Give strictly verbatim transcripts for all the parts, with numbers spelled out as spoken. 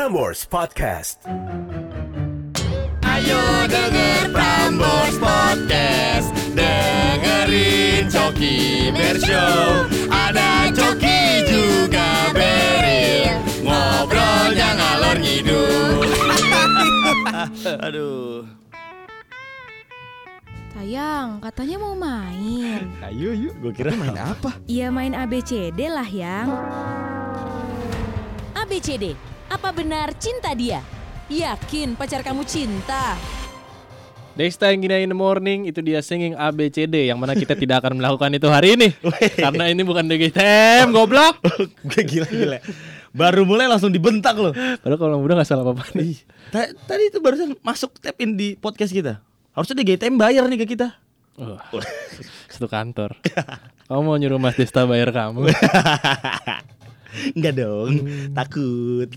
Prambors Podcast. Ayo denger Prambors Podcast, dengerin Coki Bershow. Ada Coki juga Beril, ngobrolnya ngalor ngidul. Aduh. Sayang, katanya mau main. Ayo yuk, gue kira main apa? Iya main A B C D lah yang. A B C D, apa benar cinta dia? Yakin pacar kamu cinta? Dexta yang gina in the morning, itu dia singing A B C D, yang mana kita tidak akan melakukan itu hari ini. Karena ini bukan D G T M, goblok. Gue gila-gila. Baru mulai langsung dibentak loh. Padahal kalau udah gak salah apa-apa nih. Tadi itu barusan masuk tap in di podcast kita. Harusnya D G T M bayar nih ke kita. Oh, satu kantor. Kamu mau nyuruh Mas Desta bayar kamu? Enggak dong, hmm. takut.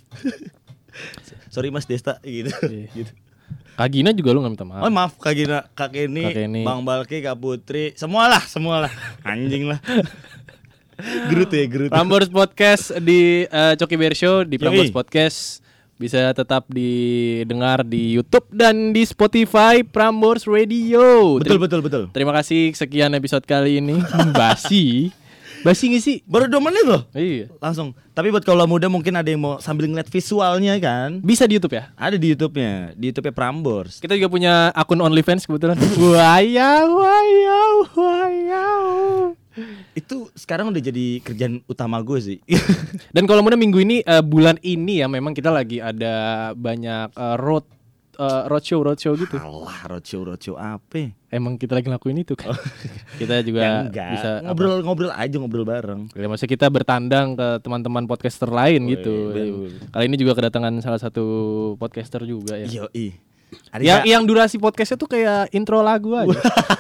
Sorry Mas Desta gitu. gitu. Kak Gina juga lu gak minta maaf. Oh maaf Kak Gina, Kak Kenny, Kak Kenny, Bang Balki, Kak Putri, semualah, semualah. Anjing lah. Gerut ya, gerut. Prambors Podcast di uh, Coki Bershow, di Prambors Podcast bisa tetap didengar di YouTube dan di Spotify Prambors Radio. Betul, betul, betul. Terima kasih sekian episode kali ini. Basi. Basi gak sih? Baru dua menit loh. Iya. Langsung. Tapi buat kaula muda mungkin ada yang mau sambil ngeliat visualnya kan. Bisa di YouTube ya? Ada di YouTube-nya. Di YouTube-nya Prambors. Kita juga punya akun OnlyFans kebetulan. Wayau, wayau, wayau. Itu sekarang udah jadi kerjaan utama gue sih. Dan kalau muda minggu ini uh, bulan ini ya memang kita lagi ada banyak uh, road uh, roadshow roadshow gitu. Alah roadshow roadshow apa? Emang kita lagi ngelakuin itu kan. Oh. Kita juga ya bisa ngobrol-ngobrol aja ngobrol bareng. Ya, maksudnya kita bertandang ke teman-teman podcaster lain oh, gitu. Iya, kali ini juga kedatangan salah satu podcaster juga ya. Yoi. Yang yang durasi podcastnya tuh kayak intro lagu aja.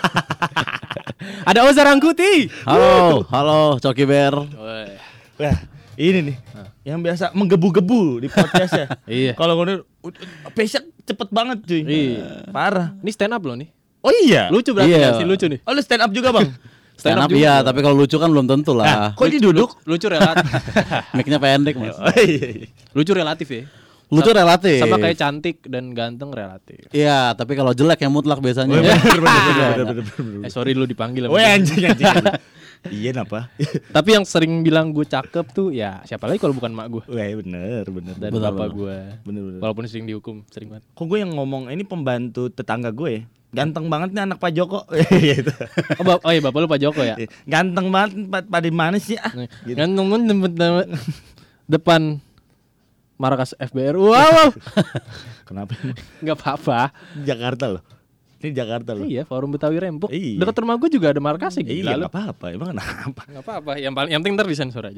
Ada Oza Rangkuti. Halo, halo Coki Ber. Wah, ini nih huh. yang biasa menggebu-gebu di podcast ya. Iya. Kalau ngono pace cepet banget cuy. Iya. Parah. Ini stand up loh nih. Oh iya. Lucu berarti iya. ya sih lucu nih. Oh lu stand up juga bang? Stand, stand up, up iya, tapi kalau lucu kan belum tentu lah. Nah, kok ini duduk? Lucu relatif. Mic-nya pendek mas. Oh, iya. Lucu relatif ya. Lucu Sa- relatif. Sama kayak cantik dan ganteng relatif. Iya, tapi kalau jelek yang mutlak biasanya. Oh, bener, bener, bener, bener, bener. Eh sorry lu dipanggil. Oh anjing anjing. Iya napa? Tapi yang sering bilang gue cakep tuh ya siapa lagi kalau bukan mak gue. Wah bener bener. Dan bener, bapak bener. gue. Bener bener. Walaupun sering dihukum sering banget. Kok gue yang ngomong ini pembantu tetangga gue ya? Ganteng banget nih anak Pak Joko. oh, bap- oh iya bapak lu Pak Joko ya? Ganteng banget pada mana sih ah? Gitu. Ganteng banget depan markas F B R. Wow. Kenapa? Enggak apa-apa. Jakarta loh. Ini Jakarta loh. Iya, Forum Betawi Rempuk. Iya. Dekat rumah gue juga ada markasnya gitu. Iya, enggak apa-apa. Emang kenapa? Enggak apa-apa. Yang paling yang penting ntar disensor aja.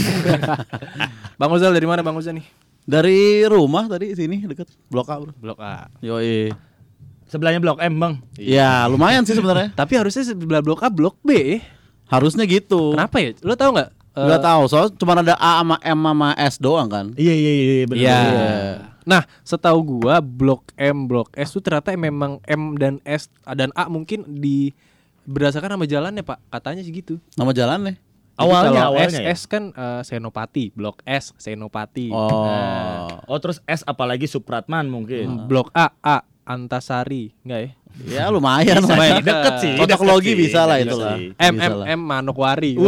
Bang Ozal dari mana Bang Ozal nih? Dari rumah tadi sini dekat Blok A, Bro. Blok A. Yoi. Sebelahnya Blok M, Bang. Iya, lumayan sih sebenarnya. Tapi harusnya sebelah Blok A Blok B. Harusnya gitu. Kenapa ya? Lo tahu enggak? Enggak uh, tahu, soalnya cuma ada A sama M sama S doang kan. Iya iya iya benar. Iya. Nah, setahu gua Blok M, Blok S tuh ternyata memang M dan S dan A mungkin di berdasarkan nama jalannya, Pak. Katanya sih gitu. Nama jalannya? Awalnya kalau awalnya S, ya? S kan uh, Senopati, Blok S Senopati. Oh. Nah. Oh, terus S apalagi Supratman mungkin. Hmm, Blok A A Antasari, enggak ya? Ya lumayan bisa, lah. Deket sih. Fotoklogi bisa lah deket itu lah. M M M Manokwari.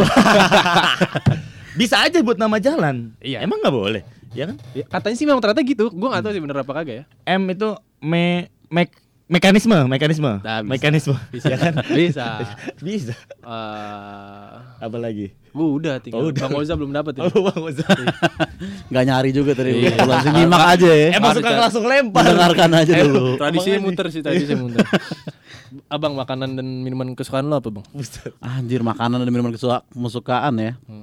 Bisa aja buat nama jalan. Iya. Emang nggak boleh? Ya kan? Ya, katanya sih memang ternyata gitu. Gue nggak tahu sih bener apa kagak ya. M itu me, me mekanisme, mekanisme. Nah, bisa. Mekanisme. Bisa ya kan? Bisa. Bisa. Uh, Apa lagi? Gua udah tinggal. Oh, udah. Bang Oza belum dapat ya. Oh, Bang Oza. Enggak nyari juga tadi. Iya. Langsung nyimak aja ya. Emang suka langsung lempar. Dengarkan aja Eh, dulu. Tradisinya muter sih, tradisinya muter. Abang, makanan dan minuman kesukaan lo apa, Bang? Anjir, makanan dan minuman kesukaan ya. Hmm.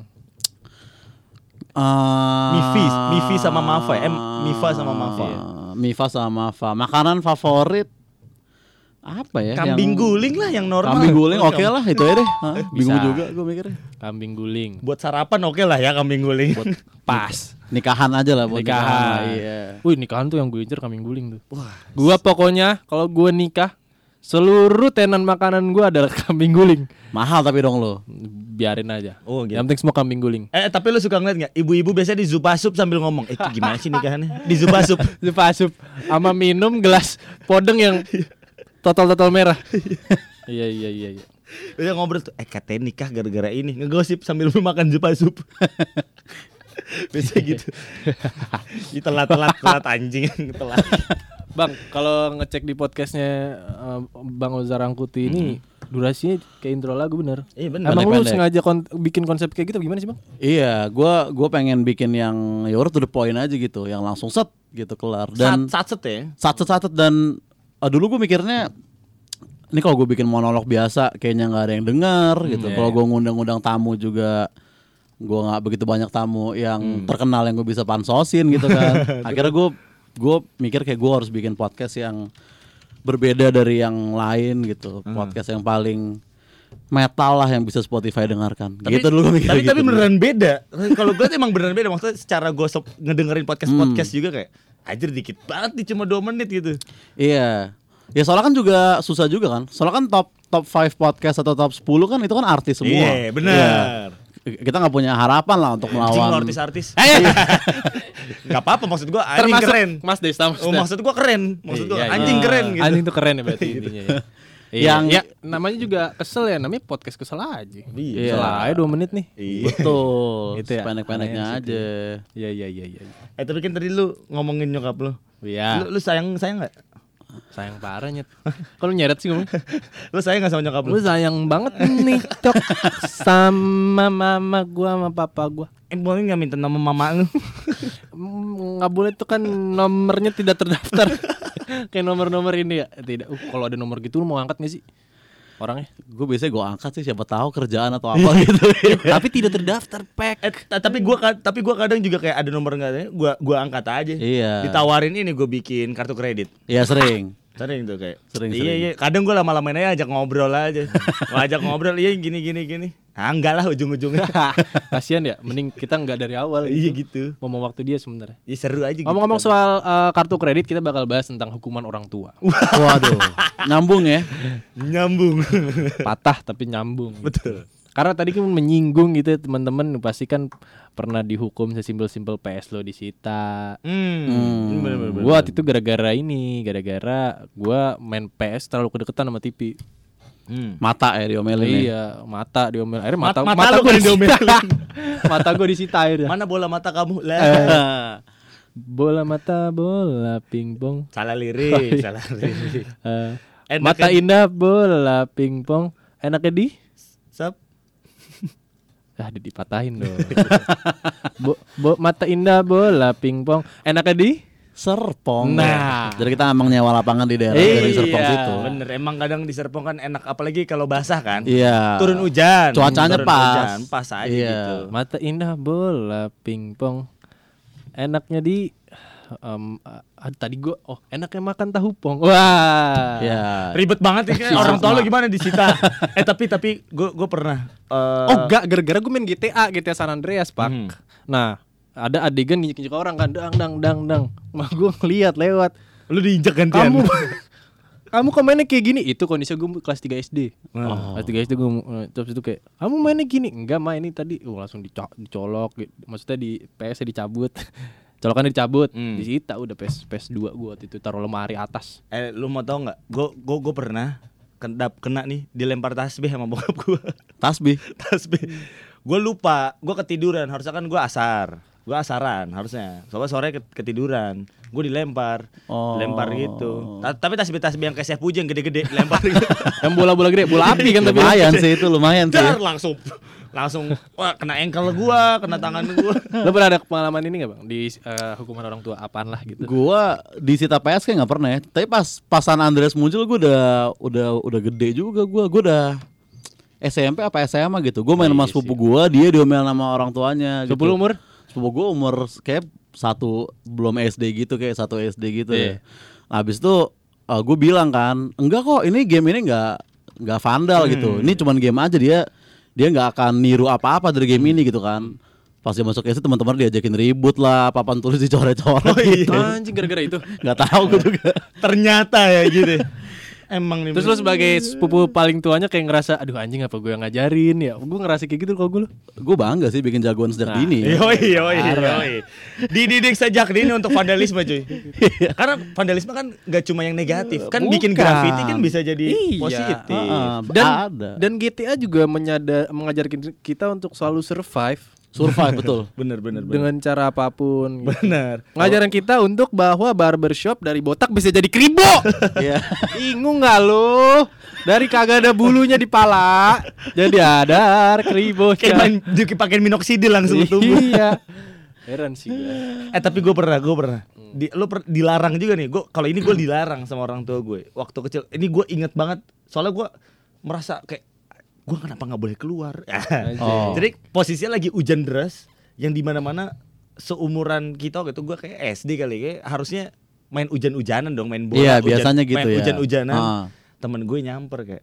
Uh, Mifi, Mifi sama Mafa. M Mifa sama Mafa. Iya. Mifa sama Mafa. Makanan favorit apa ya? Kambing yang... guling lah yang normal. Kambing guling oke okay lah itu aja deh. Hah, bingung Bisa. juga gue mikirnya. Kambing guling. Buat sarapan oke lah ya kambing guling. Buat pas. Nikahan aja lah buat Nikahan. nikahan lah, iya. Wih, nikahan tuh yang gue incer kambing guling tuh. Wah. Gua pokoknya kalau gue nikah Seluruh tenan makanan gue adalah kambing guling. Mahal tapi dong lo. Biarin aja. Oh, gitu. Yang penting semua kambing guling. Eh tapi lu suka ngeliat nggak? Ibu-ibu biasanya di Zupasup sambil ngomong, eh itu gimana sih nikahannya? Di Zupasup. Zupasup sama minum gelas podeng yang total-total merah. Iya iya iya iya. Udah ngobrol tuh, eh katanya nikah gara-gara ini. Ngegosip sambil makan Zupasup. Biasa gitu. Ini telat-telat telat anjing telat. Bang, kalau ngecek di podcastnya uh, Bang Ozar Rangkuti ini hmm. durasinya kayak intro lagu bener. Iya bener. Emang lu Pendek-pendek. sengaja kon- bikin konsep kayak gitu gimana sih Bang? Iya, gua gua pengen bikin yang ya udah to the point aja gitu, yang langsung set gitu kelar. Dan Sat-sat ya. sat-set dan uh, dulu gue mikirnya ini kalau gue bikin monolog biasa kayaknya nggak ada yang dengar gitu. Hmm, Kalau iya. gue ngundang-undang tamu juga gue nggak begitu banyak tamu yang Hmm. terkenal yang gue bisa pansosin gitu kan. Akhirnya gue gue mikir kayak gue harus bikin podcast yang berbeda dari yang lain gitu. Hmm. Podcast yang paling metal lah yang bisa Spotify dengarkan. Tapi, gitu dulu gue mikir tapi, gitu tapi dulu. beneran beda. Kalau gue tuh emang beneran beda. Maksudnya secara gue so- ngedengerin podcast-podcast juga kayak anjir dikit banget nih cuma dua menit gitu. Iya. Ya soalnya kan juga susah juga kan. Soalnya kan top top lima podcast atau top sepuluh kan itu kan artis semua. Iya benar. Kita nggak punya harapan lah untuk Anjing melawan lo artis-artis. Gak apa-apa maksud gue anjing Termasuk keren. Mas Desta, Mas Oh, Desta. maksud gue keren. Maksud gue Iya, iya. anjing keren gitu. Anjing tuh keren ya berarti intinya ya. Iya. Yang- ya namanya juga kesel ya, namanya podcast kesel aja. Iya. Kesel aja dua menit nih. Iya. Betul. Gitu ya. Pendek-pendeknya Makanya aja. Iya iya iya iya. Eh tapi kan tadi lu ngomongin nyokap lu. Iya. Lu, lu sayang sayang nggak? Sayang parah nyet. Kalau nyeret sih ngomong. Lu sayang nggak sama nyokap lu? Lu sayang banget nih cok sama mama gua sama papa gua. Eh boleh nggak minta nama mama lu? Mm, nggak boleh tuh kan nomornya tidak terdaftar. Kayak nomor-nomor ini ya. Tidak. Uh, kalau ada nomor gitu lu mau angkat nggak sih orangnya? Gue biasanya gue angkat sih siapa tahu kerjaan atau apa gitu. Tapi tidak terdaftar pek. Eh, t- tapi gua ka- tapi gua kadang juga kayak ada nomor enggak ada, gua gua angkat aja. Iya. Ditawarin ini gua bikin kartu kredit. Iya sering. Sering tuh kayak. Sering, iya sering. iya, kadang gua lama-lamain aja ajak ngobrol aja. Gua ajak ngobrol, iya gini gini gini. Ah enggak lah ujung-ujungnya. Kasian ya, mending kita nggak dari awal. Iya gitu. Mau waktu dia sebenarnya. Iya seru aja gitu. Ngomong-ngomong soal uh, kartu kredit, kita bakal bahas tentang hukuman orang tua. Waduh. Nyambung ya. nyambung. Patah tapi nyambung. Betul. Karena tadi kan menyinggung gitu ya, teman-teman pasti kan pernah dihukum sesimpel-simpel P S lo disita. Hmm. Hmm. Bener, bener, bener. Gua waktu itu gara-gara ini, gara-gara gua main P S terlalu kedekatan sama T V. Hmm. Mata ya diomelin ya. Iya, mata diomelin. Akhirnya mata Mat- mata mata lu gua kan disita. diomelin. Mata gua disita akhirnya. Mana bola mata kamu? Lah. Eh. Bola mata bola pingpong. Salah lirik, salah lirik. Eh, Enak mata kan? indah bola pingpong. Enaknya di Sap. ah di dipatahin dong. bo, bo, mata indah bola pingpong. Enaknya di Serpong. Nah. Jadi kita emang nyewa lapangan di daerah Iya. dari Serpong situ. Bener, emang kadang di Serpong kan enak apalagi kalau basah kan. Iya. Turun hujan. Cuacanya Turun pas. hujan, pas aja Iya. gitu. mata indah bola pingpong. Enaknya di um, ah, tadi gua oh enaknya makan tahu pong. Wah. Iya. Ribet banget ya, orang tua lu gimana disita. eh tapi tapi gue gue pernah eh, Oh enggak, gara-gara gue main G T A, G T A San Andreas, Pak. Hmm. Nah, ada adegan nginjek orang kan, dang dang dang dang. Mah gue ngeliat lewat. lu diinjek gantian. Kamu Kamu kok mainnya kayak gini? Itu kondisinya gue kelas tiga S D. Oh. Kelas tiga S D gue terus itu kayak, "Kamu mainnya gini?" "Enggak, main ini tadi." Oh, langsung dico- dicolok, gitu. Maksudnya di P S-nya dicabut. Colokannya dicabut, Hmm. disita udah P S P S dua gue waktu itu taruh lemari atas. Eh lu mau tau nggak? Gue gue gue pernah kena kena nih dilempar tasbih sama bokap gue. Tasbih. tasbih. Gue lupa, gue ketiduran. Harusnya kan gue asar. Gue asaran harusnya. Soalnya sore ketiduran. Gue dilempar. Oh. Lempar gitu. Ta- tapi tasbih-tasbih yang kayak Chef Puji yang gede-gede lempar gitu. Yang bola-bola gede, bola api kan tapi. Lumayan sih itu lumayan sih. Dar langsung langsung wah kena ankle gua, kena tangan gua. Lo pernah ada pengalaman ini nggak bang di eh, hukuman orang tua apaan lah gitu? Gua disita P S kayak nggak pernah ya. Tapi pas pasan Andreas muncul gua udah udah udah gede juga gua. Gua udah S M P apa S M A gitu. Gua main Oh, sama iya sepupu sih. gua, dia diomel sama orang tuanya gitu. Sepuluh umur? Sepupu gua umur kayak satu belum S D gitu, kayak satu S D gitu Iya. ya. Nah, habis itu uh, gue bilang kan, enggak kok ini game ini enggak enggak vandal Hmm. gitu. Ini cuman game aja, dia dia enggak akan niru apa-apa dari game ini gitu kan. Pas dia masuk S D teman-teman diajakin ribut lah, papan tulis dicoret-coret Oh, iya. gitu. Anjing gara-gara itu. Enggak tahu gue juga. Ternyata ya gitu. Emang nih. Terus lu sebagai sepupu paling tuanya kayak ngerasa, aduh anjing apa gue yang ngajarin ya? Gue ngerasa kayak gitu kalau gue lu. Gue bangga sih bikin jagoan sejak dini. ya. Yoi, yoi, yoi. Dididik sejak dini untuk vandalisme cuy. Karena vandalisme kan gak cuma yang negatif. Kan bikin Bukan. graffiti kan bisa jadi Iya. positif. Ah, Dan ada. dan G T A juga menyadar mengajarkan kita untuk selalu survive Survive betul. Bener, bener, bener. dengan cara apapun. Gitu. Bener. Ngajarin kita untuk bahwa barbershop dari botak bisa jadi kribo. Iya. Bingung nggak lu? Dari kagak ada bulunya di pala jadi ada kribo. Kayak main dipakein minoxidil langsung ke tubuh. Iya. Heran sih gue. Eh tapi gue pernah, gue pernah. Di, lu per, dilarang juga nih. Gue kalau ini gue dilarang sama orang tua gue. Waktu kecil. Ini gue inget banget. Soalnya gue merasa kayak gue kenapa nggak boleh keluar? Oh. Jadi posisinya lagi hujan deras, yang di mana-mana seumuran kita gitu. Gue kayak S D kali, kayak harusnya main hujan-hujanan dong, main bola. Iya, hujan- biasanya gitu main ya. Hujan-hujanan. Ah. Temen gue nyamper kayak,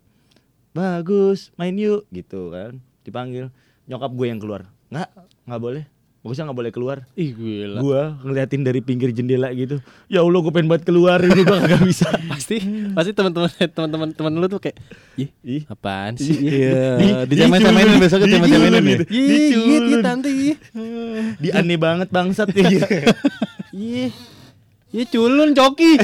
bagus, main yuk gitu kan. Dipanggil, nyokap gue yang keluar. Nggak, nggak boleh. Bagusnya nggak boleh keluar. Ih gila. Gua ngeliatin dari pinggir jendela gitu. Ya Allah, gue pengen banget keluar, ini gua kagak bisa. Pasti pasti teman-teman teman-teman teman lu tuh kayak, ih, Ih. apaan sih? Iya. Dicemen-cemenin besoknya cemen-cemenin ya. Ih, iya, iya tante, ih. Di aneh banget bangsat ya gitu. Iya. Iya culun coki.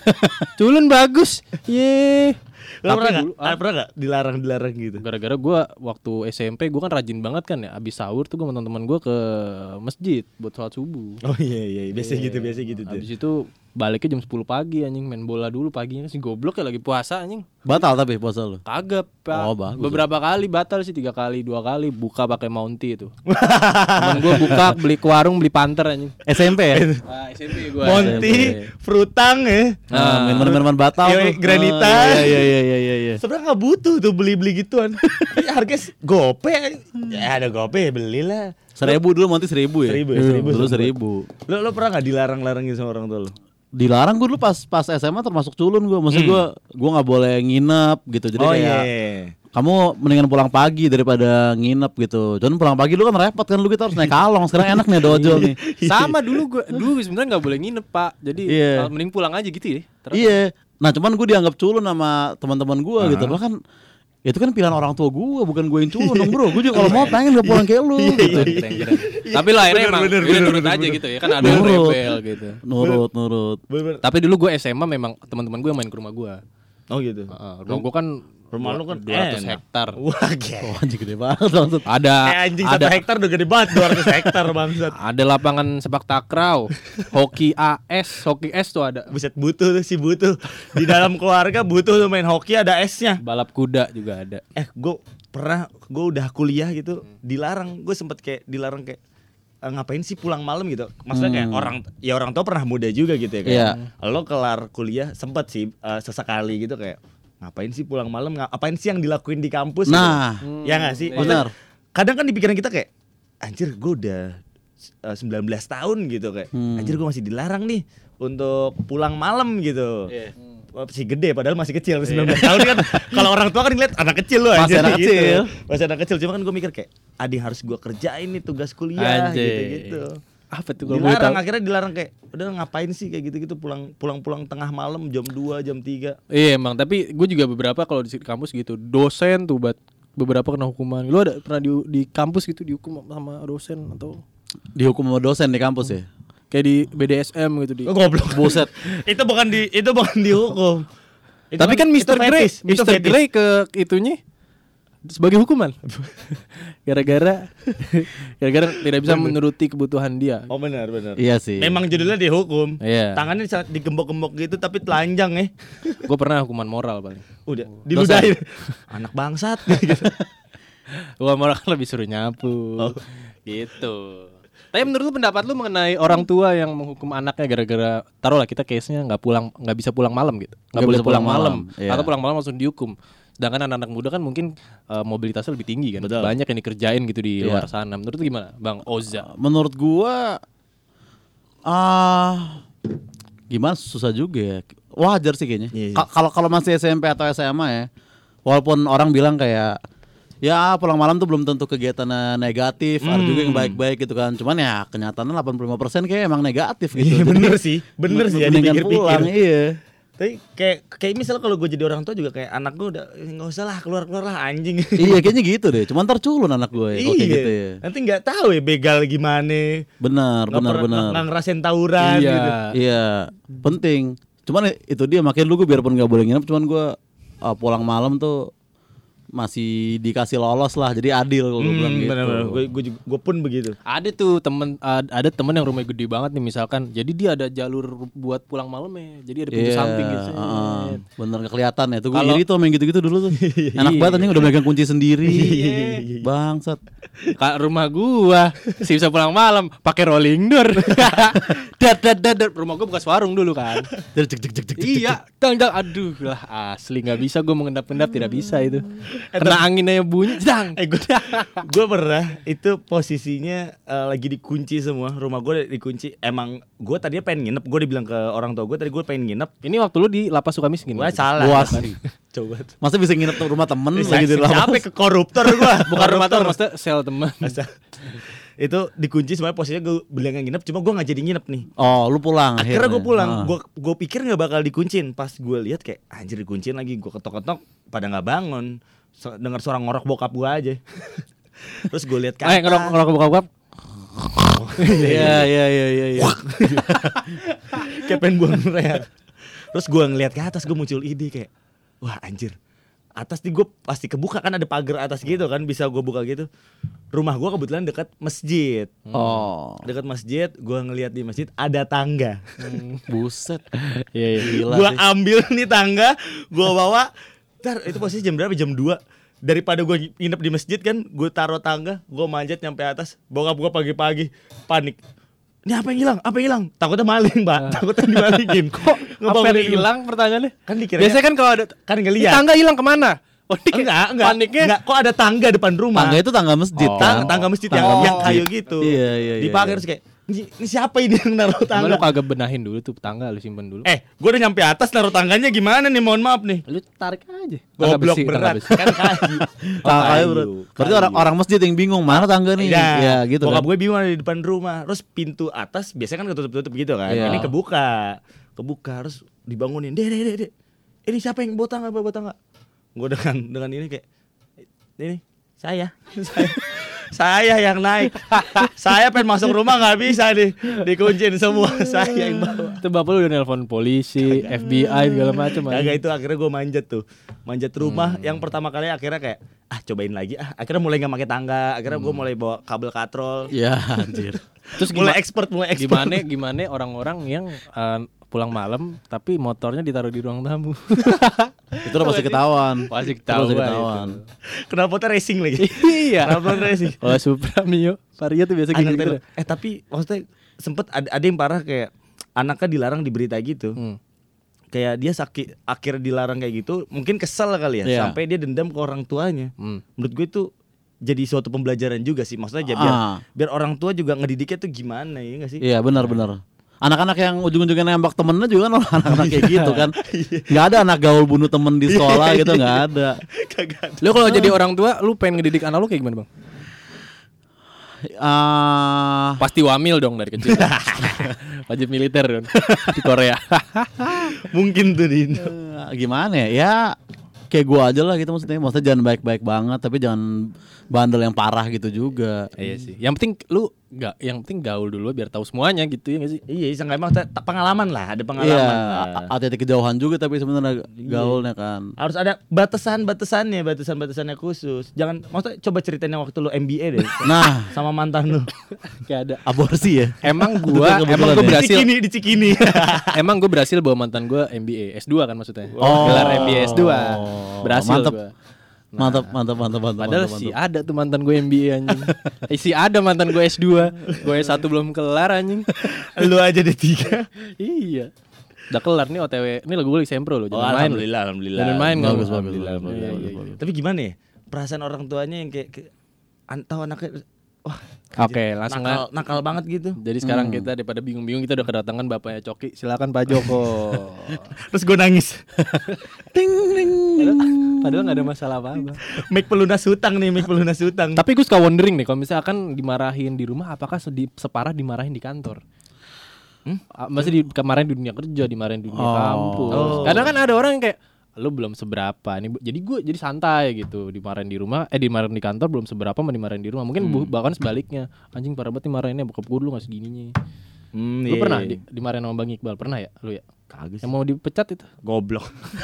Culun bagus. Iya. Lo pernah Tapi gak? dulu, ah, Pernah gak dilarang-dilarang gitu? gara-gara gue waktu S M P gue kan rajin banget kan ya, abis sahur tuh gue sama teman-teman gue ke masjid buat sholat subuh. Oh iya iya, biasa gitu, biasa gitu tuh. Abis itu baliknya jam sepuluh pagi anjing, main bola dulu paginya, si goblok ya lagi puasa anjing. Batal tapi puasa lu. Kagak, Pak. Oh, bagus. Beberapa kali batal sih, tiga kali, dua kali buka pakai Mounty itu. Temen gue buka beli ke warung beli panter anjing. S M P ya. Ah, S M P gue. Monty, Frutang ya. Nah, minuman-minuman batal Iya, tuh. Granita. Ah, Iya iya iya iya iya. Sebenarnya nggak butuh tuh beli-beli gituan. Ya, harga gope, ya ada gope belilah. Seribu dulu Monty seribu ya. Seribu ya, seribu, Dulu seribu. seribu. Lo lo pernah nggak dilarang-larangin sama orang tua lo? Dilarang gue dulu pas pas S M A termasuk culun gue. Maksud gue gue nggak boleh nginep gitu. Jadi Oh kayak iya. kamu mendingan pulang pagi daripada nginep gitu. Cuman pulang pagi lu kan repot kan, lu kita harus naik kalong. Sekarang enak nih ada ojol nih. Sama dulu gue, dulu sebenarnya nggak boleh nginep Pak. Jadi Iya. uh, mending pulang aja gitu ya. Terus Iya. Nah cuman gue dianggap culun sama teman-teman gue gitu. Lah kan itu kan pilihan orang tua gue, bukan gue yang culun dong bro. Gue juga kalau mau pengen gak pulang kayak lu gitu. keren, keren. Tapi lah akhirnya Bener, emang bener, udah bener, nurut bener, aja bener. gitu ya. Kan ada yang Nurut. rebel gitu. Nurut, nurut. Bener-bener. Tapi dulu gue S M A memang teman-teman gue yang main ke rumah gue. Oh gitu. Heeh, rumah gue kan Rumah lu kan dua ratus enak. hektar. Wah, gila. Oh anjing gede banget maksud. Ada Eh anjing satu ada hektar udah gede banget, dua ratus hektar bangsat. ada lapangan sepak takraw, hoki A S, hoki S tuh ada. Buset, butuh tuh si butuh. Di dalam keluarga butuh tuh main hoki ada esnya. Balap kuda juga ada. Eh, gue pernah, gue udah kuliah gitu, dilarang. Gue sempet kayak dilarang kayak "Eh, ngapain sih pulang malam gitu. Maksudnya kayak orang, ya orang tua pernah muda juga gitu ya kayak. Iya. Lo kelar kuliah sempet sih eh, sesekali gitu kayak ngapain sih pulang malam? Ngapain sih yang dilakuin di kampus? Nah, gitu. Ya nggak sih? benar. Kadang kan di pikiran kita kayak anjir gue udah uh, sembilan belas tahun gitu kayak Hmm. anjir gue masih dilarang nih untuk pulang malam gitu. Wah, masih gede padahal masih kecil sembilan belas tahun kan. Kalau orang tua kan ngeliat anak kecil loh Masih anjir, anak gitu. kecil. Masih anak kecil, cuma kan gue mikir kayak adi harus gue kerjain nih tugas kuliah Anjay. gitu-gitu. Apa tuh kalau boleh Dilarang, tahu? akhirnya dilarang kayak udah ngapain sih kayak gitu-gitu pulang pulang-pulang tengah malam jam dua, jam tiga. Iya emang, tapi gue juga beberapa kalau di kampus gitu, dosen tuh buat beberapa kena hukuman. Lu ada pernah di di kampus gitu dihukum sama dosen atau Dihukum sama dosen di kampus ya. kayak di B D S M gitu di. Oh, goblok. Buset. Itu bukan di itu bukan dihukum. Itu Tapi kan mister itu Grey, fetis, itu mister fetis. Grey ke itunya sebagai hukuman. Gara-gara gara-gara tidak bisa menuruti kebutuhan dia. Oh benar benar. Iya sih. Memang judulnya dihukum. Iya. Tangannya bisa digembok-gembok gitu tapi telanjang ya. Gue pernah hukuman moral paling. Udah diludahin. Anak bangsat gitu. Hukuman moral kan lebih suruh nyapu. Gitu. Tapi menurut lu pendapat lu mengenai orang tua yang menghukum anaknya gara-gara taruhlah kita case-nya nggak pulang nggak bisa pulang malam gitu. Nggak Nggak boleh bisa pulang pulang malam. malam, iya. Atau pulang malam langsung dihukum. Sedangkan anak-anak muda kan mungkin uh, mobilitasnya lebih tinggi kan. Betul. Banyak yang dikerjain gitu di Iya. luar sana. Menurut lu gimana, Bang Oza? Menurut gua ah gimana susah juga ya. Wajar sih kayaknya. Iya, iya. Ka- Kalau kalau masih S M P atau S M A ya. Walaupun orang bilang kayak ya pulang malam tuh belum tentu kegiatannya negatif, ada juga yang baik-baik gitu kan. Cuman ya kenyataannya delapan puluh lima persen kayak emang negatif gitu. Iya Jadi, bener sih. Bener sih ya mendingan dipikir-pikir. pulang, iya. Tapi kayak kayak misal kalau gue jadi orang tua juga kayak anak gue udah nggak usah lah keluar keluar lah anjing. Iya kayaknya gitu deh. Cuman ntar culun anak gue ya, kalau kayak Iya. gitu ya. Nanti nggak tahu ya begal gimana. Benar, Nggak benar, pernah- benar. Nggak ngerasain tawuran Iya. gitu. Iya, penting. Cuman itu dia makanya lu gue biarpun nggak boleh nginep, cuman gue uh, pulang malam tuh masih dikasih lolos lah, jadi adil kalau gue bilang Hmm, gitu. benar-benar. Gue gue juga- gue pun begitu. Ada tuh temen ad- ada temen yang rumahnya gede banget nih misalkan. Jadi dia ada jalur buat pulang malamnya. Jadi ada pintu Iya, samping gitu. uh-uh. Bener nggak kelihatan ya. Tuh gue Kalau- iri tuh main gitu-gitu dulu tuh. Enak banget anjing udah megang kunci sendiri. Iya. Bangsat. Kak rumah gua sih bisa pulang malam pakai rolling door. Dad dad dad dad. Rumah gua bekas warung dulu kan. Jadi cek cek cek cek. Iya, dang dang aduh lah asli nggak bisa gua mengendap-endap tidak bisa itu. Kena angin aja bunyi, dang. Eh gue gue pernah itu posisinya eh, lagi dikunci semua rumah gue dikunci. Emang gue tadinya pengen nginep. Gue dibilang ke orang tua gue tadi gue pengen nginep. Ini waktu lu di lapas Sukamiskin. Gue maksudnya? salah. Luas. Coba. Masa bisa nginep tuh rumah temen Eh, lagi di siapa lapas? ke koruptor gue? Bukan rumah tuh, maksudnya sel teman. Itu dikunci semuanya posisinya gue bilang nginep. Cuma gue nggak jadi nginep nih. Oh, lu pulang. Akhirnya gue pulang. Ah. Gue gue pikir nggak bakal dikuncin. Pas gue lihat kayak anjir dikuncin lagi. Gue ketok-ketok pada nggak bangun. So, dengar suara ngorok bokap gue aja. Terus gue lihat ke Eh atas. ngerok ngerok bokap. Iya iya iya iya iya. Kayak pengen buang reak. Terus gue ngeliat ke atas, gue muncul ide kayak, wah anjir, atas nih gue pasti kebuka kan, ada pagar atas gitu kan, bisa gue buka gitu. Rumah gue kebetulan dekat masjid. Oh, Dekat masjid, gue ngeliat di masjid ada tangga. buset. Iya iya. Gila Gue sih. ambil nih tangga, gue bawa. Ntar itu posisi jam berapa? Jam dua. Daripada gue nginep di masjid kan, gue taruh tangga, gue manjat nyampe atas. Bokap gue pagi-pagi panik. Ini apa yang hilang? Apa yang hilang? Takutnya maling, Mbak. Takutnya dimalingin. Kok Apa yang hilang pertanyaannya? Kan dikira Biasanya kan kalau ada kan "Ini ngeliat. tangga hilang kemana? Oh, ini kayak Enggak, enggak. paniknya. Enggak, kok ada tangga depan rumah. Tangga itu tangga masjid Oh. kan? Tangga, tangga masjid yang, Tangga yang masjid. kayu gitu. Iya, iya, iya, Dipakai iya. terus kayak ini, ini siapa ini yang naruh Emang tangga? lu kagak benahin dulu tuh tangga lu simpen dulu. Eh, gue udah nyampe atas naruh tangganya gimana nih? Mohon maaf nih. Lu tarik aja. Tangga Goblok besi, tangga berat besi. kan kayu. Tangga kayu kayu, berat. Berarti kayu. orang orang masjid yang bingung mana tangga nih? Iya, Ya gitu bokap kan. gue bingung ada di depan rumah. Terus pintu atas biasanya kan ketutup-tutup gitu kan. Iya. Ini kebuka. Kebuka terus dibangunin. Dek, dek, dek, dek. Ini siapa yang bawa tangga, bawa tangga? Gue dengan dengan ini kayak ini saya. saya. Saya yang naik. Saya pengen masuk rumah nggak bisa nih. Dikuncin semua. Saya yang bawa. Itu bapak lu udah nelpon polisi, F B I segala macam. Kagak, itu akhirnya gue manjat tuh. Manjat rumah yang pertama kali akhirnya kayak ah cobain lagi ah. Akhirnya mulai nggak pakai tangga. Akhirnya gue mulai bawa kabel katrol. Ya anjir. Terus Mulai gimana expert, mulai expert. gimana gimana orang-orang yang eh, pulang malam tapi motornya ditaruh di ruang tamu. Itu udah pasti ketahuan. Pasti Itu pasti ketahuan ketahuan. Kenapa tuh racing lagi? Iya. Kenapa racing? Oh, Supra Mio, Vario tuh biasa Anak gitu. telu. Eh tapi maksudnya sempet ada, ada yang parah kayak anaknya dilarang di berita gitu. Hmm. Kayak dia sakit akhirnya dilarang kayak gitu, mungkin kesel kali ya, Iya. sampai dia dendam ke orang tuanya. Hmm. Menurut gue itu jadi suatu pembelajaran juga sih. Maksudnya aja biar Ah. biar orang tua juga ngedidiknya tuh gimana ya enggak sih? Iya benar-benar. Anak-anak yang ujung-ujungnya nembak temennya juga kan anak-anak kayak gitu kan. Nggak ada anak gaul bunuh temen di sekolah gitu, nggak ada. Kagak ada. Lu kalau jadi orang tua, lu pengen ngedidik anak lu kayak gimana, Bang? Ah, Pasti wamil dong dari kecil. Wajib militer dong di Korea. Mungkin tuh di Indo. eh, gimana ya? Ya kayak gua aja lah gitu maksudnya. Maksudnya jangan baik-baik banget, tapi jangan bandel yang parah gitu juga. Iya sih. Yang penting lu nggak, yang penting gaul dulu biar tahu semuanya gitu ya nggak sih? Iya, sangka emang te- pengalaman lah, ada Iya, pengalaman. a- Nah. hati-hati kejauhan juga tapi sebenarnya gaulnya kan. Harus ada batasan-batasannya, batasan-batasannya khusus. Jangan, maksudnya coba ceritain yang waktu lu M B A deh Nah, sama mantan lu. Kayak ada. aborsi ya. Emang gua, Kebetulan emang ya. gua Di berhasil. Cikini, di Cikini. Emang gue berhasil bawa mantan gue M B A S dua kan maksudnya. Oh. Gelar M B A S dua. Berhasil Mantep. gua. Mantap, mantap, mantap, mantap. Padahal mantap, si mantap. ada tuh mantan gue M B A anjing. eh, si ada mantan gue S dua. Gue S satu belum kelar anjing. Lu aja D tiga. Iya. Udah kelar nih O T W. Ini lagu gue lagi sempro loh. Oh, Jangan main. alhamdulillah, alhamdulillah. Jangan main Bagus, nggak? bagus, Alhamdulillah, bagus, alhamdulillah. bagus, Iya, iya, bagus. iya. Tapi gimana ya? Perasaan orang tuanya yang kayak, kayak an- tahu anaknya wah, Oke, langsung nakal, lah. nakal banget gitu. Jadi sekarang Hmm. kita daripada bingung-bingung kita udah kedatangan bapaknya Coki. Silakan Pak Joko. Terus gue nangis. Ting, ting, ting. Padahal nggak ada masalah apa-apa. Make pelunas hutang nih, make pelunas hutang. Tapi gue suka wondering nih kalau misalkan dimarahin di rumah apakah sedi- separah dimarahin di kantor? Hmm? Ah, Masih di kemarin di dunia kerja, dimarahin di dunia Oh. kampus. Oh. Karena kan ada orang yang kayak lu belum seberapa nih, jadi gue jadi santai gitu, dimarahin di rumah, eh dimarahin di kantor belum seberapa, mau dimarahin di rumah, mungkin bu- bahkan sebaliknya, anjing parah banget dimarahinnya, bokap gue dulu nggak segininya. Hmm, Lu iya. pernah di, dimarahin sama Bang Iqbal, pernah ya, lu ya? Kagak sih. Yang mau dipecat itu? Goblok.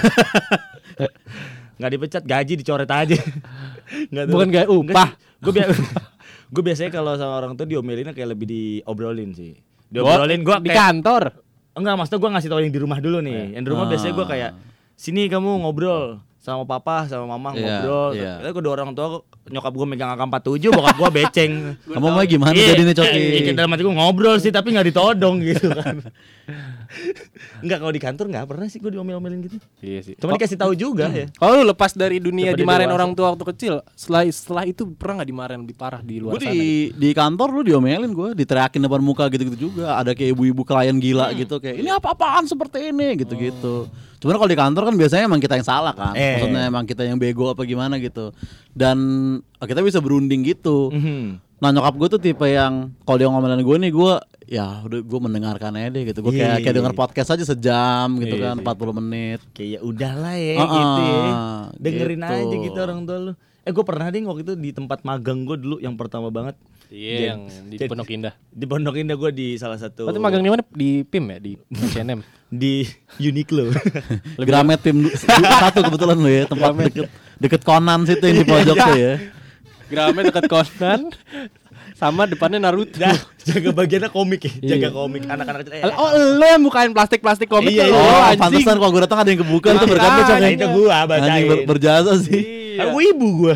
Nggak dipecat, gaji dicoret aja. Nggak tahu. Bukan gak upah. Gue biasa gue biasanya kalau sama orang tuh diomelinnya kayak lebih diobrolin sih. Diobrolin gue di kayak kantor. enggak, maksudnya gue ngasih tau yang di rumah dulu nih. Yang di rumah Ah. biasanya gue kayak sini kamu ngobrol sama papa sama mama Iya, ngobrol. iya. Terus kedua orang tua nyokap gue megang A K empat tujuh, bokap gue beceng. Kamu mau gimana Iya, jadi nih Coki? iya, dalam hati gue ngobrol sih tapi nggak ditodong gitu kan. Enggak, kalau di kantor nggak pernah sih gue diomel-omelin gitu. Iya sih. Cuma dikasih tahu juga ya. Kalau lu lepas dari dunia Lepas dari dimarahin dewasa. orang tua waktu kecil, setelah setelah itu pernah nggak dimarahin lebih parah di luar Gue sana? di di kantor lu diomelin gue, diteriakin depan muka gitu-gitu juga. Ada kayak ibu-ibu klien gila gitu kayak ini apa-apaan seperti ini gitu-gitu. Cuman kalau di kantor kan biasanya emang kita yang salah kan. Eh. Maksudnya emang kita yang bego apa gimana gitu. Dan kita bisa berunding gitu. Mhm. Nah nyokap gue tuh tipe yang kalau dia ngomelin gue nih gue ya udah gue mendengarkan aja deh gitu. Gue Iya, kayak iya, kayak denger iya. podcast aja sejam gitu Iya, kan, iya. empat puluh menit. Kayak ya udahlah ya Ah, gitu ya. ah, Dengerin gitu. aja gitu orang tua lu. Eh gue pernah deh waktu itu di tempat magang gue dulu yang pertama banget. Iya, Jen- yang di Jen- Pondok Indah. Di Pondok Indah gue di salah satu. Berarti magang di mana? Di P I M ya, di H and M. Di Uniqlo. Gramet tim du- satu kebetulan lu ya, tempat deket deket Conan situ yang di pojok tuh ya. Gramet dekat Conan. Sama depannya Naruto. Nah, jaga bagiannya komik ya, jaga Iya. komik anak-anak kecil. Eh, Oh, lo yang bukain plastik-plastik komik Iya, tuh, iya. lo, Oh, anjing. pantesan kalau gue datang ada yang kebuka tuh berkatnya Cok. nah, itu gua bacain. Anjing ber- berjasa sih. Iya. Kan gue ibu gue.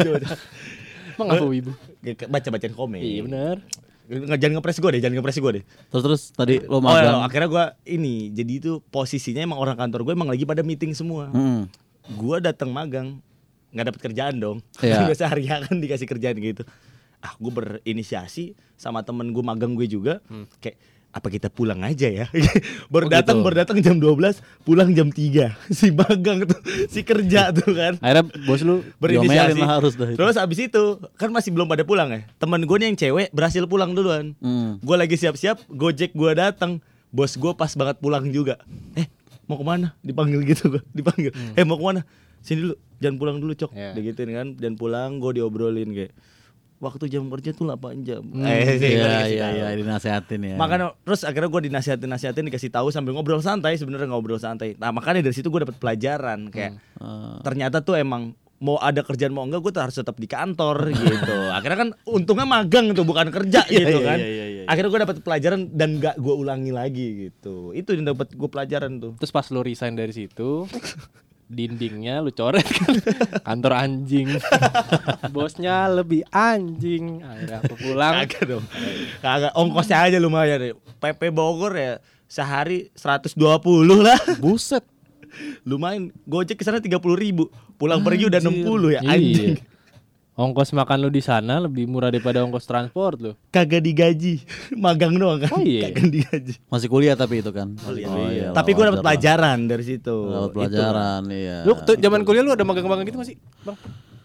Emang apa ibu? Baca-bacain komik. Iya benar. Nggak, jangan ngepres gue deh, jangan ngepres gue deh. Terus terus tadi Oh, lo magang. ya, akhirnya gue ini, jadi itu posisinya emang orang kantor gue emang lagi pada meeting semua. Hmm. Gue datang magang, nggak dapet kerjaan dong. Iya. Biasa hari kan dikasih kerjaan gitu. Ah, gue berinisiasi sama temen gue magang gue juga, kayak apa kita pulang aja ya. baru Oh, datang, gitu. baru datang jam dua belas, pulang jam tiga. Si magang tuh, si kerja tuh kan. Akhirnya bos lu Berinisiasi. Diomelin lah harus dah itu. Terus abis itu kan masih belum pada pulang ya. Temen gue nih yang cewek berhasil pulang duluan. Hmm. Gue lagi siap-siap, Gojek gue datang, bos gue pas banget pulang juga. Eh, mau kemana? Dipanggil gitu gue, dipanggil. Eh, mau kemana? Sini dulu, jangan pulang dulu cok. Iya. Digituin kan, dan pulang gue diobrolin kayak waktu jam kerja tuh delapan jam. Hmm. Eh, sih, gua Iya dikasih iya tahu. iya dinasehatin ya. Makanya terus akhirnya gue dinasihatin-nasihatin, dikasih tahu sambil ngobrol santai, sebenarnya ngobrol santai. Nah makanya dari situ gue dapet pelajaran kayak Ah. ternyata tuh emang mau ada kerjaan mau enggak gue tuh harus tetap di kantor gitu. Akhirnya kan untungnya magang tuh bukan kerja Iya, gitu iya, kan. iya, iya, iya. Akhirnya gue dapet pelajaran dan gak gue ulangi lagi gitu. Itu yang dapet gue pelajaran tuh. Terus pas lu resign dari situ, dindingnya lu coret kan. Kantor anjing. Bosnya lebih anjing. Akhirnya aku pulang. Kagak dong. Kagak, ongkosnya aja lumayan deh. P P Bogor ya sehari seratus dua puluh lah. Buset. Lumayan. Gojek ke sana tiga puluh ribu. Pulang pergi udah enam puluh ya anjing. Iya. Ongkos makan lu di sana lebih murah daripada ongkos transport lu. Kagak digaji. Magang doang kan. Oh iya. Kagak digaji. Masih kuliah tapi itu kan. Kuliah. Oh, iya, Tapi gue wajar dapet lah. pelajaran dari situ. Dapat Itu. pelajaran iya. Lu tuh zaman kuliah lu ada magang-magang gitu masih, Bang?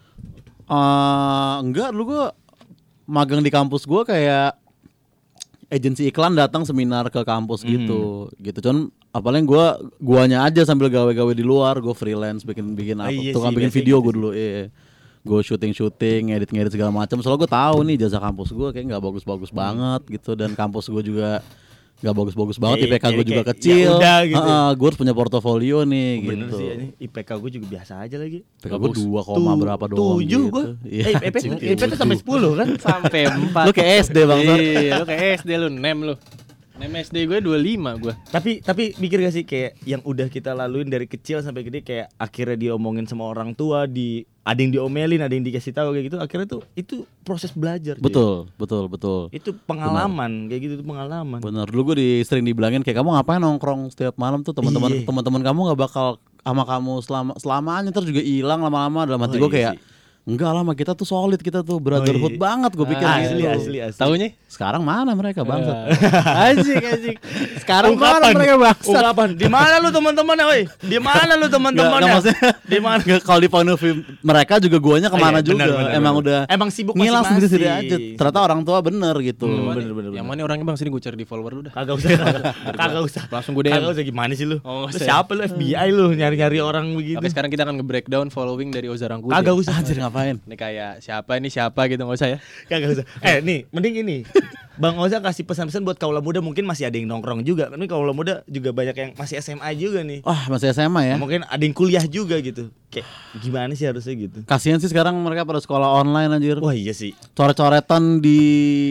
Eh, enggak, lu gua magang di kampus gua kayak agensi iklan datang seminar ke kampus gitu. Gitu cuman apalagi gua guanya aja sambil gawe-gawe di luar, gua freelance bikin-bikin Ah, apa. iya Tukang sih, bikin biasanya video gitu gua sih. dulu, iya. Gue syuting-syuting, ngedit-ngedit segala macam. Soalnya gue tahu nih jasa kampus gue kayak nggak bagus-bagus Hmm. banget gitu, dan kampus gue juga nggak bagus-bagus banget. Kayak- I P K gue kayak- juga kayak, kecil. ya udah gitu. gue harus punya portofolio nih Bener gitu. sih ini I P K gue juga biasa aja lagi. I P K gue dua koma Tu- berapa doang Tujuh gitu. gue. Iya, Eh, I P anjing, I P tuh sampai sepuluh kan. Sampai empat. Lu kayak S D bang. Iya, lu kayak S D lu, nem lu. Nem S D gue dua puluh lima gue. Tapi tapi mikir gak sih kayak yang udah kita laluin dari kecil sampai gede, kayak akhirnya diomongin sama orang tua, di ada yang diomelin, ada yang dikasih tahu kayak gitu. Akhirnya tuh itu proses belajar. cuy. Betul, betul, betul. Itu pengalaman kayak gitu, itu pengalaman. Bener, dulu gue di, sering dibilangin kayak kamu ngapain nongkrong setiap malam tuh, teman-teman Iya. teman-teman kamu nggak bakal sama kamu selama selamanya, terus juga hilang lama-lama. Dalam hati Oh, gue iya kayak sih. Enggak lah, sama kita tuh solid, kita tuh brotherhood Oh, iya. banget gue pikir Ah, gitu. Asli asli asli. Taunya? Sekarang mana mereka bangsat? Asik asik. Sekarang mana Ungkapan, mereka bangsat? ungkapan. Di mana lu teman-temannya, woi? Di mana lu Nggak, teman-temannya? nggak, maksudnya Di mana? nggak, kalau di point of view mereka juga guanya kemana Oh, iya, juga. benar, benar, Emang benar. udah Emang sibuk ngilang masing-masing. sendiri aja. Ternyata orang tua bener gitu. Hmm, bener, bener, Yang bener. mana orangnya bang? Sini gue cari di follower lu dah. Kagak usah, kagak, kagak usah. Langsung gue D M. Kagak usah, gimana sih lu? Oh, nggak Lu usah. siapa lu, F B I lu nyari-nyari orang begitu? Oke, sekarang kita akan nge-breakdown following dari Oza Rangkuti. Kagak usah. Anjir ngapain? Ini kayak siapa ini siapa gitu, nggak usah ya. Kagak usah. Eh nih, mending ini. Bang Oza kasih pesan-pesan buat kaula muda, mungkin masih ada yang nongkrong juga. Tapi kaula muda juga banyak yang masih S M A juga nih. Wah, masih S M A ya? Mungkin ada yang kuliah juga gitu. Kayak gimana sih harusnya gitu? Kasihan sih sekarang mereka pada sekolah online anjir. Wah iya sih. Coret-coretan di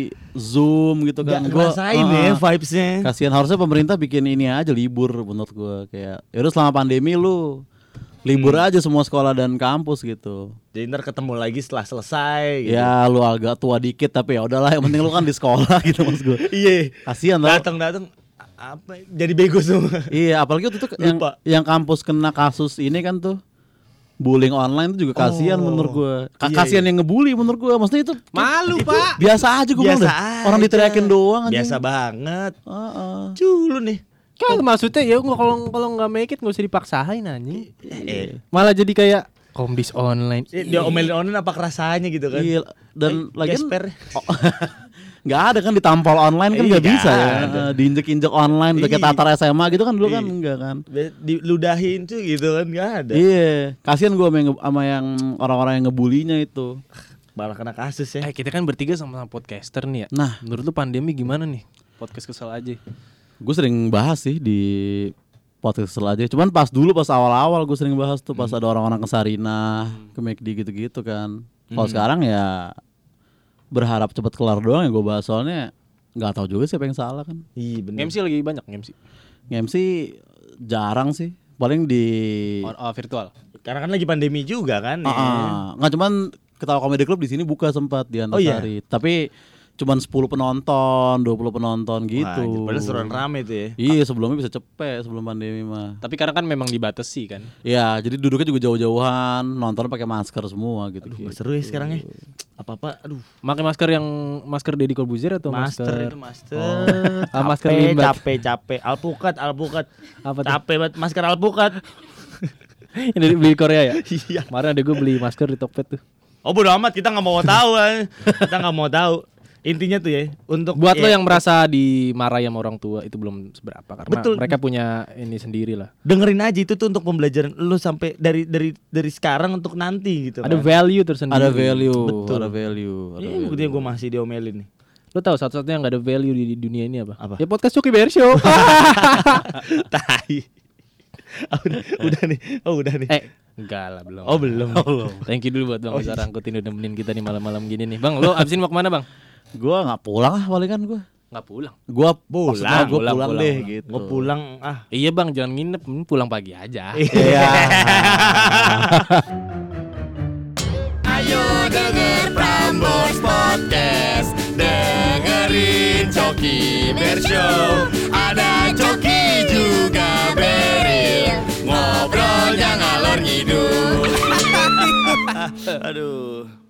Zoom gitu kan. Gak Gua- ngerasain ah, ya vibes-nya. Kasihan, harusnya pemerintah bikin ini aja libur menurut gua, kayak yaudah selama pandemi lu libur Hmm. aja semua sekolah dan kampus gitu. Jadi ntar ketemu lagi setelah selesai gitu. Ya lu agak tua dikit tapi ya udahlah, yang penting lu kan di sekolah gitu maksud gua. Iya. Kasihan tau. Datang-datang apa jadi bego semua. Iya, apalagi waktu itu yang, Lupa. yang kampus kena kasus ini kan tuh bullying online tuh juga kasihan Oh. menurut gua. Ka- Iya, kasihan iya. yang ngebully menurut gua. Maksudnya itu Malu pak. biasa aja gua bilang Biasa dah. Orang aja. diteriakin doang anjing. Biasa banget. Heeh. Culu nih. Kalau maksudnya ya nggak kalau kalau nggak make it nggak usah dipaksain anjing. Eh, Malah jadi kayak komdis online. eh, dia omelin online apa kerasanya gitu kan? Iya, dan Eh, lagi gesper. nggak ada kan ditampol online kan Iya, nggak bisa nggak ya. ada. Eh, diinjek-injek online kayak Iya. tatar S M A gitu kan dulu kan Iya. enggak kan. Be- Diludahin tuh gitu kan nggak ada. Iya, kasihan gua sama yang, sama yang orang-orang yang ngebulinya itu. Malah kena kasus ya. Eh kita kan bertiga sama-sama podcaster nih ya. Nah, Menurut lu pandemi gimana nih? Podcast kesel aja. gue sering bahas sih di podcast Kesel aja. Cuman pas dulu pas awal-awal gue sering bahas tuh pas ada orang-orang ke Sarinah, ke McD gitu-gitu kan. Kalau sekarang ya berharap cepet kelar doang ya gue bahas, soalnya nggak tahu juga siapa yang salah kan. Iya bener. M C lagi banyak M C. Nge-M C jarang sih, paling di Oh, oh, virtual. Karena kan lagi pandemi juga kan. Ah, ya. ah. nggak cuman Ketawa Comedy Club di sini buka sempat di Oh, iya? Antasari. Tapi cuman sepuluh penonton, dua puluh penonton gitu. Wah, anjir, padahal seruan rame tuh ya. Iya, sebelumnya bisa cepet sebelum pandemi mah. Tapi karena kan memang dibatasi kan. Ya, jadi duduknya juga jauh-jauhan, nonton pakai masker semua gitu. Aduh, seru ya sekarang ya. Apa-apa, aduh. Pakai masker yang masker Deddy Corbuzier atau Master masker? itu master. Ah, masker Capek, limbat. capek, capek. Alpukat, alpukat. Apa tuh? Capek banget masker alpukat. Yang dari beli di Korea ya? Iya. Kemarin ada gue beli masker di Tokped tuh. Oh bodo amat, kita nggak mau tahu kan. Kita nggak mau tahu. Intinya tuh ya, untuk Buat lo ya, yang merasa dimarahi sama orang tua itu belum seberapa karena Betul. mereka punya ini sendiri lah. dengerin aja itu tuh untuk pembelajaran lu sampai dari dari dari sekarang untuk nanti gitu. Ada kan. value tersendiri. Ada value, Betul. ada value. Ada Ini value. buktinya gue masih diomelin nih. Lo tahu satu-satunya yang gak ada value di, di dunia ini apa? Apa? Ya podcast Coki Bear Show. Tai. Oh, udah, udah nih. Oh udah nih. eh, enggak lah belum. Oh belum. Thank you dulu buat Bang Oh, Oza Rangkuti udah nemenin kita nih malam-malam gini nih. Bang, lo abisin mau kemana Bang? Gua nggak pulang ah palingan gua. Nggak pulang. Gua Pulang, maksudnya gua pulang, pulang, pulang, deh pulang. gitu. Gue pulang ah. Iya Bang, jangan nginep, hmm, pulang pagi aja. Iya. Ayo denger Prambors Podcast, dengerin Coki Bear Show. Ada Coki juga Beril, ngobrolnya ngalor ngidul. Aduh.